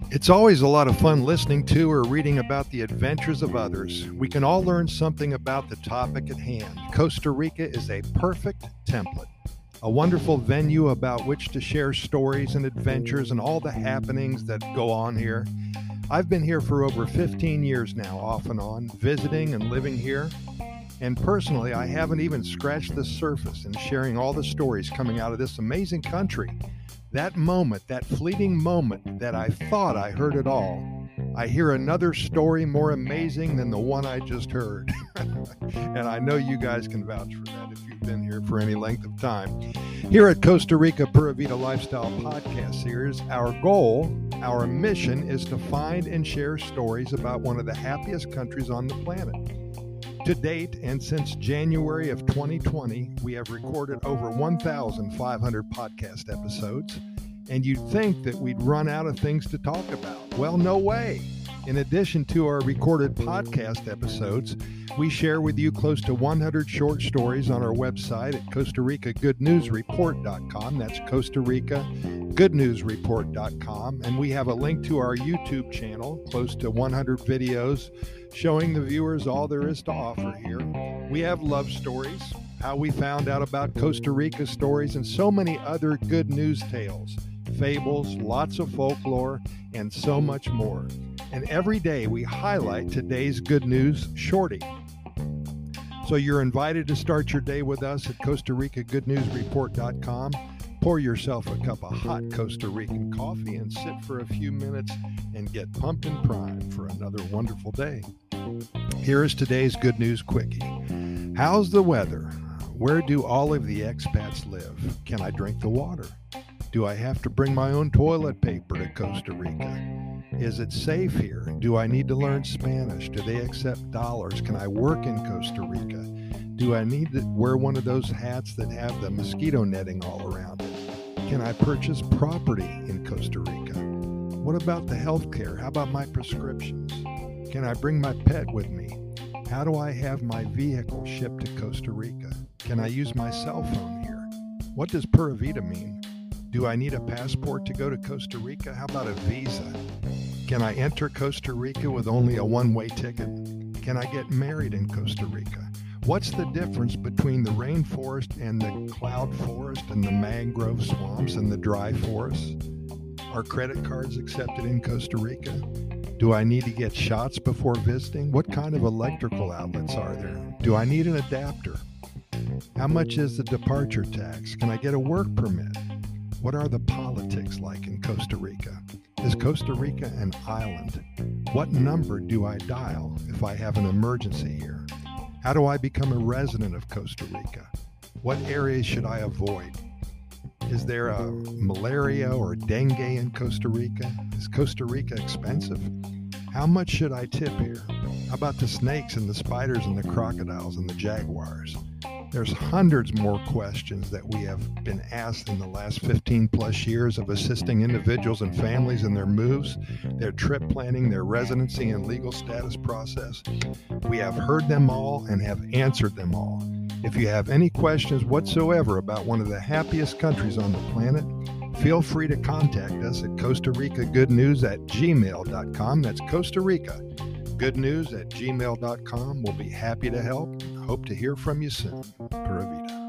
It's always a lot of fun listening to or reading about the adventures of others. We can all learn something about the topic at hand. Costa Rica is a perfect template, a wonderful venue about which to share stories and adventures and all the happenings that go on here. I've been here for over 15 years now, off and on, visiting and living here. And personally, I haven't even scratched the surface in sharing all the stories coming out of this amazing country. That moment, that fleeting moment that I thought I heard it all, I hear another story more amazing than the one I just heard. And I know you guys can vouch for that if you've been here for any length of time. Here at Costa Rica Pura Vida Lifestyle Podcast Series, our goal, our mission is to find and share stories about one of the happiest countries on the planet. To date, and since January of 2020, we have recorded over 1,500 podcast episodes, and you'd think that we'd run out of things to talk about. Well, no way. In addition to our recorded podcast episodes, we share with you close to 100 short stories on our website at Costa Rica Good News Report.com. That's Costa Rica Good News Report.com. And we have a link to our YouTube channel, close to 100 videos showing the viewers all there is to offer here. We have love stories, how we found out about Costa Rica stories, and so many other good news tales, fables, lots of folklore, and so much more. And every day we highlight today's good news shorty. So you're invited to start your day with us at Costa Rica Good News Report.com. Pour yourself a cup of hot Costa Rican coffee and sit for a few minutes and get pumped and primed for another wonderful day. Here is today's good news quickie. How's the weather? Where do all of the expats live? Can I drink the water? Do I have to bring my own toilet paper to Costa Rica? Is it safe here? Do I need to learn Spanish? Do they accept dollars? Can I work in Costa Rica? Do I need to wear one of those hats that have the mosquito netting all around it? Can I purchase property in Costa Rica? What about the health care? How about my prescriptions? Can I bring my pet with me? How do I have my vehicle shipped to Costa Rica? Can I use my cell phone here? What does Pura Vida mean? Do I need a passport to go to Costa Rica? How about a visa? Can I enter Costa Rica with only a one-way ticket? Can I get married in Costa Rica? What's the difference between the rainforest and the cloud forest and the mangrove swamps and the dry forests? Are credit cards accepted in Costa Rica? Do I need to get shots before visiting? What kind of electrical outlets are there? Do I need an adapter? How much is the departure tax? Can I get a work permit? What are the politics like in Costa Rica? Is Costa Rica an island? What number do I dial if I have an emergency here? How do I become a resident of Costa Rica? What areas should I avoid? Is there a malaria or dengue in Costa Rica? Is Costa Rica expensive? How much should I tip here? How about the snakes and the spiders and the crocodiles and the jaguars? There's hundreds more questions that we have been asked in the last 15 plus years of assisting individuals and families in their moves, their trip planning, their residency and legal status process. We have heard them all and have answered them all. If you have any questions whatsoever about one of the happiest countries on the planet, feel free to contact us at Costa Rica Good News at gmail.com. That's Costa Rica Good News at gmail.com. We'll be happy to help. Hope to hear from you soon. Pura Vida.